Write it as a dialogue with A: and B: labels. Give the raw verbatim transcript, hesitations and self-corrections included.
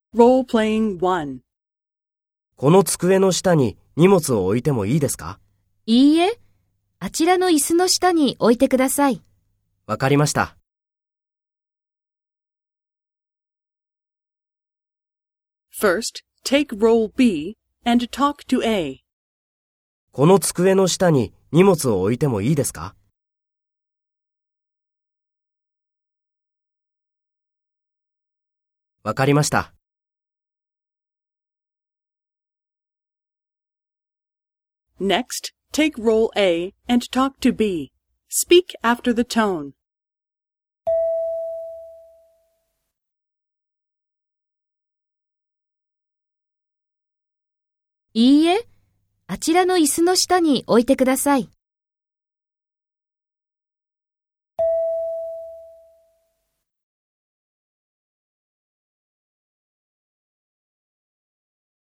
A: Role-playing one.
B: この机の下に荷物を置いてもいいですか？
C: いいえ、あちらの椅子の下に置いてください。
B: わかりました。
A: First, take role B and talk to A.
B: この机の下に荷物を置いてもいいですか？わかりました。
A: Next, take role A and talk to B. Speak after the tone.
C: いいえ、あちらの椅子の下に置いてください。